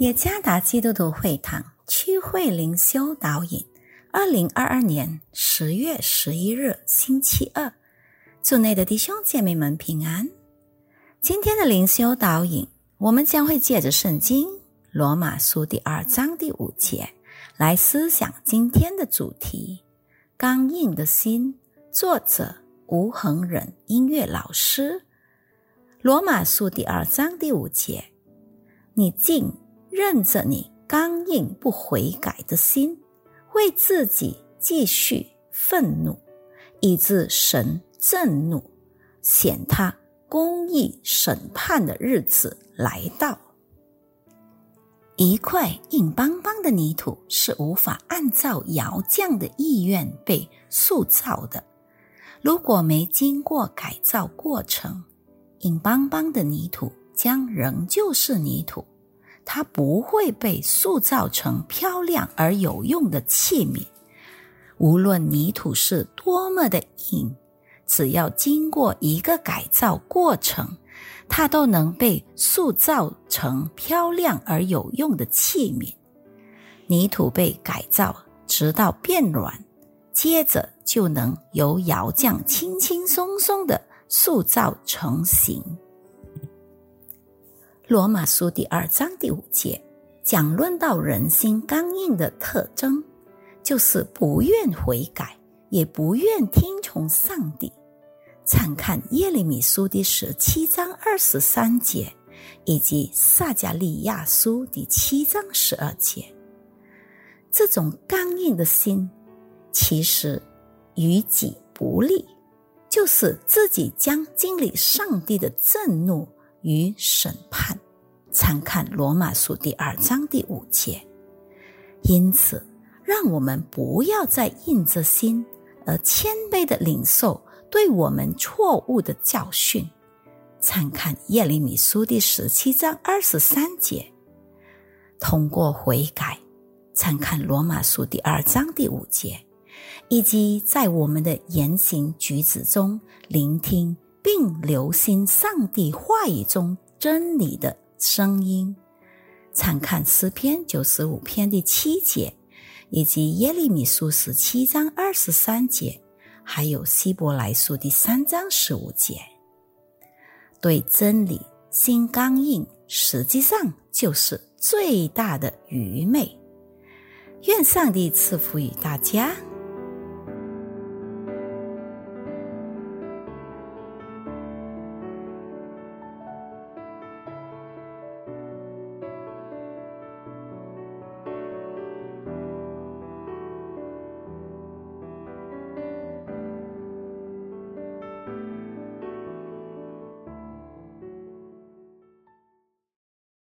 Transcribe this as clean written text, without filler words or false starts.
耶加达基督徒会堂区会灵修导引2022年10月11日星期二，主内的弟兄姐妹们平安。今天的灵修导引，我们将会借着圣经罗马书第2章第5节来思想今天的主题，刚硬的心，作者吴恒忍音乐老师。罗马书第2章第5节，你竟任着你刚硬不悔改的心，为自己继续愤怒，以致神震怒，显他公义审判的日子来到。一块硬邦邦的泥土是无法按照窑匠的意愿被塑造的，如果没经过改造过程，硬邦邦的泥土将仍旧是泥土，它不会被塑造成漂亮而有用的器皿。无论泥土是多么的硬，只要经过一个改造过程，它都能被塑造成漂亮而有用的器皿。泥土被改造直到变软，接着就能由窑匠轻轻松松地塑造成型。罗马书第2章第5节讲论到人心刚硬的特征，就是不愿悔改，也不愿听从上帝。参看耶利米书第17章23节以及撒迦利亚书第7章12节。这种刚硬的心其实于己不利，就是自己将经历上帝的震怒与审判。参看罗马书第2章第5节。因此让我们不要再硬着心而谦卑地领受对我们错误的教训。参看耶利米书第17章23节。通过悔改，参看罗马书第2章第5节，以及在我们的言行举止中聆听并留心上帝话语中真理的声音。参看诗篇95篇第7节，以及耶利米书17章23节，还有希伯来书第3章15节。对真理心刚硬，实际上就是最大的愚昧。愿上帝赐福于大家。